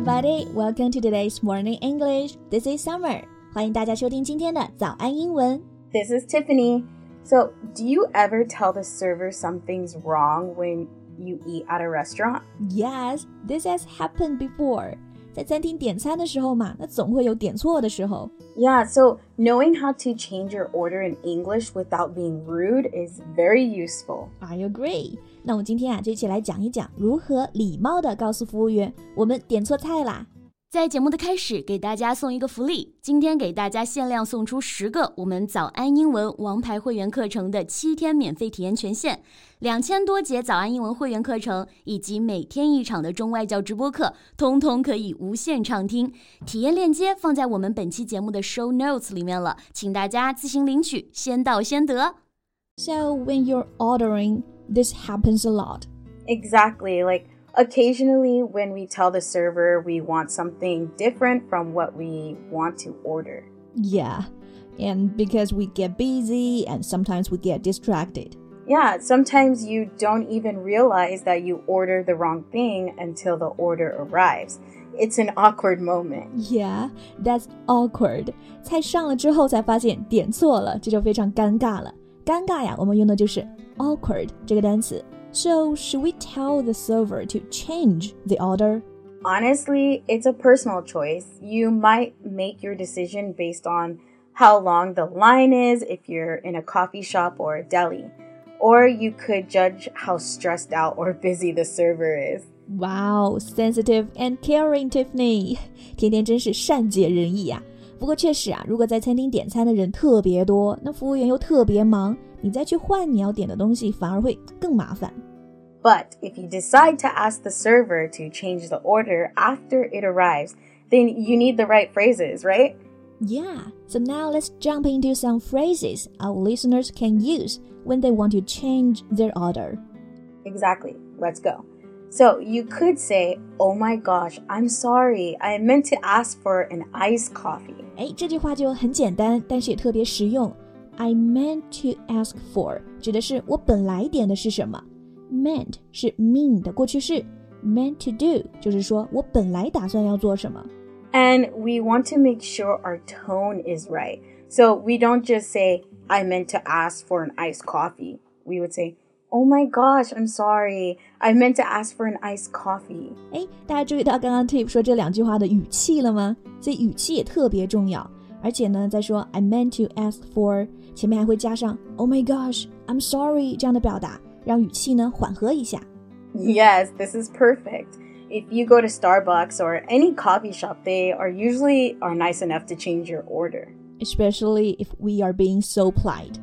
everybody, welcome to today's Morning English. This is Summer. 欢迎大家收听今天的早安英文。 This is Tiffany. So, do you ever tell the server something's wrong when you eat at a restaurant? Yes, this has happened before. 在餐厅点餐的时候嘛，那总会有点错的时候。 Yeah, so knowing how to change your order in English without being rude is very useful. I agree. 那我们今天就一起来讲一讲如何礼貌地告诉服务员我们点错菜啦。 在节目的开始，给大家送一个福利，今天给大家限量送出10个我们早安英文王牌会员课程的7天免费体验权限，2000多节早安英文会员课程以及每天1场的中外教直播课，通通可以无限畅听。体验链接放在我们本期节目的 show notes 里面了，请大家自行领取，先到先得。 So when you're ordering, this happens a lot. Exactly, occasionally when we tell the server we want something different from what we want to order. Yeah, and because we get busy and sometimes we get distracted. Yeah, sometimes you don't even realize that you ordered the wrong thing until the order arrives. It's an awkward moment. Yeah, that's awkward. 菜上了之后才发现点错了，这就非常尴尬了。尴尬呀，我们用的就是 awkward 这个单词。So, should we tell the server to change the order? Honestly, it's a personal choice. You might make your decision based on how long the line is if you're in a coffee shop or a deli. Or you could judge how stressed out or busy the server is. Wow, sensitive and caring, Tiffany. 天天真是善解人意啊。不过确实啊，如果在餐厅点餐的人特别多，那服务员又特别忙，你再去换你要点的东西反而会更麻烦。 But if you decide to ask the server to change the order after it arrives, then you need the right phrases, right? Yeah, so now let's jump into some phrases our listeners can use when they want to change their order. Exactly. Let's go. So you could say, "Oh my gosh, I'm sorry. I meant to ask for an iced coffee." 这句话就很简单，但是也特别实用。I meant to ask for 指的是我本来点的是什么。Meant 是 mean 的过去式 ，meant to do 就是说我本来打算要做什么。 And we want to make sure our tone is right. So we don't just say, "I meant to ask for an iced coffee." We would say, "Oh my gosh, I'm sorry. I meant to ask for an iced coffee." 大家注意到刚刚 Tiff 说这两句话的语气了吗？所以语气也特别重要。而且呢，在说 I meant to ask for 前面还会加上 Oh my gosh, I'm sorry 这样的表达，让语气呢缓和一下。 Yes, this is perfect. If you go to Starbucks or any coffee shop, they usually nice enough to change your order. Especially if we are being so polite.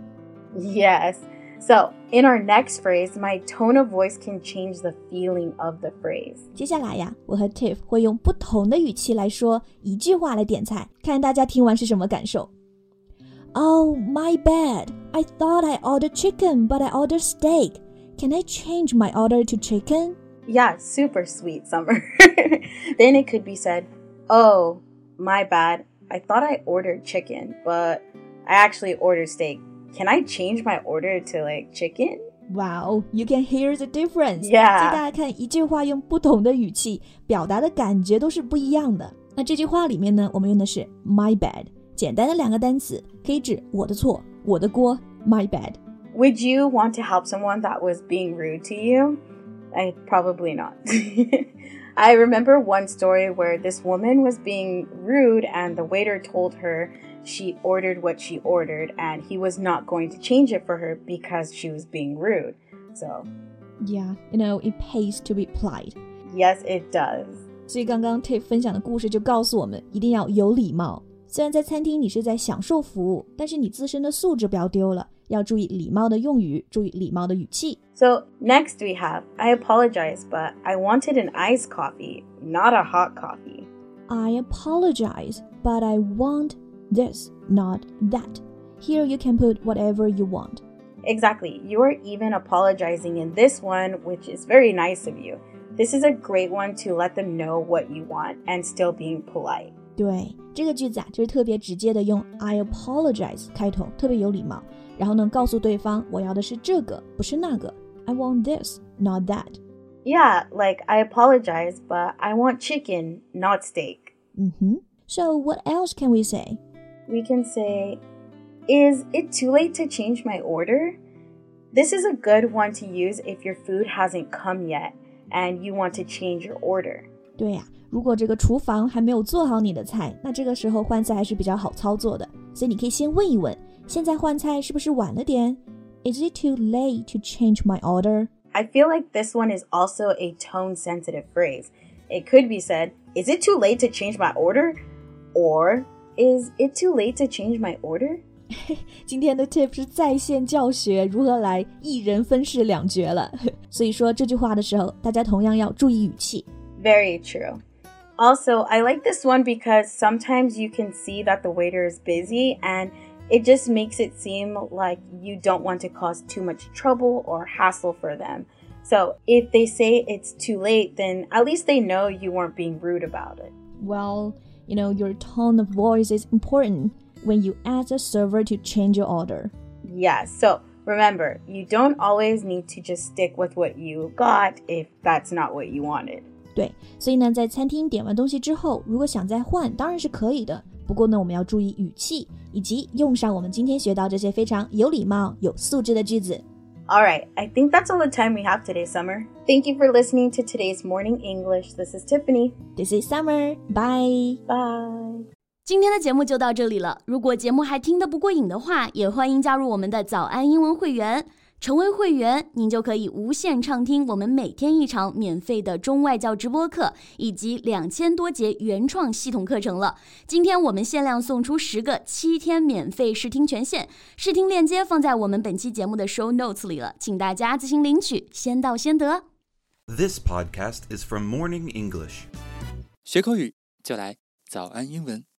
Yes. So, in our next phrase, my tone of voice can change the feeling of the phrase. 接下来呀，我和 Tiff 会用不同的语气来说一句话来点菜，看大家听完是什么感受。Oh, my bad. I thought I ordered chicken, but I ordered steak. Can I change my order to chicken? Yeah, super sweet, Summer. Then it could be said, "Oh, my bad. I thought I ordered chicken, but I actually ordered steak. Can I change my order to chicken?" Wow, you can hear the difference. Yeah. 所以大家看一句话用不同的语气表达的感觉都是不一样的。那这句话里面呢，我们用的是 my bad， 简单的2个单词，可以指我的错，我的锅 my bad。 Would you want to help someone that was being rude to you? Probably not. I remember one story where this woman was being rude and the waiter told her she ordered what she ordered and he was not going to change it for her because she was being rude. So, yeah, it pays to be polite. Yes, it does. 所以刚刚 Tiff 分享的故事就告诉我们一定要有礼貌。虽然在餐厅你是在享受服务，但是你自身的素质不要丢了，要注意礼貌的用语，注意礼貌的语气。 So next we have, I apologize, but I wanted an iced coffee, not a hot coffee. I apologize, but I want this, not that. Here you can put whatever you want. Exactly. You are even apologizing in this one, which is very nice of you. This is a great one to let them know what you want and still being polite. 对，这个句子就是特别直接的用 I apologize 开头，特别有礼貌。然后呢，告诉对方我要的是这个，不是那个。I want this, not that. Yeah, like I apologize, but I want chicken, not steak. So what else can we say? We can say, is it too late to change my order? This is a good one to use if your food hasn't come yet and you want to change your order. 对呀，如果这个厨房还没有做好你的菜，那这个时候换菜还是比较好操作的。所以你可以先问一问，现在换菜是不是晚了点？ Is it too late to change my order? I feel like this one is also a tone-sensitive phrase. It could be said, is it too late to change my order? Or, is it too late to change my order? 今天的 tip 是在线教学，如何来一人分饰两角了。所以说这句话的时候，大家同样要注意语气。 Very true. Also, I like this one because sometimes you can see that the waiter is busy and it just makes it seem like you don't want to cause too much trouble or hassle for them. So if they say it's too late, then at least they know you weren't being rude about it. Well, your tone of voice is important when you ask a server to change your order. Yeah, so remember, you don't always need to just stick with what you got if that's not what you wanted. 对，所以呢，在餐厅点完东西之后，如果想再换，当然是可以的。不过呢，我们要注意语气，以及用上我们今天学到这些非常有礼貌、有素质的句子。 Alright, I think that's all the time we have today, Summer. Thank you for listening to today's Morning English. This is Tiffany. This is Summer. Bye. Bye. 今天的节目就到这里了。如果节目还听得不过瘾的话，也欢迎加入我们的早安英文会员。成为会员，您就可以无限畅听我们每天一场免费的中外教直播课，以及2000多节原创系统课程了。今天我们限量送出10个7天免费试听权限，试听链接放在我们本期节目的 show notes 里了，请大家自行领取，先到先得。 This podcast is from Morning English. 学口语就来早安英文。